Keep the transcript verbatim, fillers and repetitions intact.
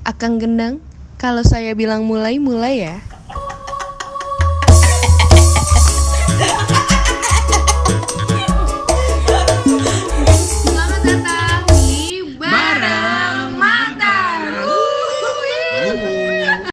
Akang Gendang, kalau saya bilang mulai, mulai ya.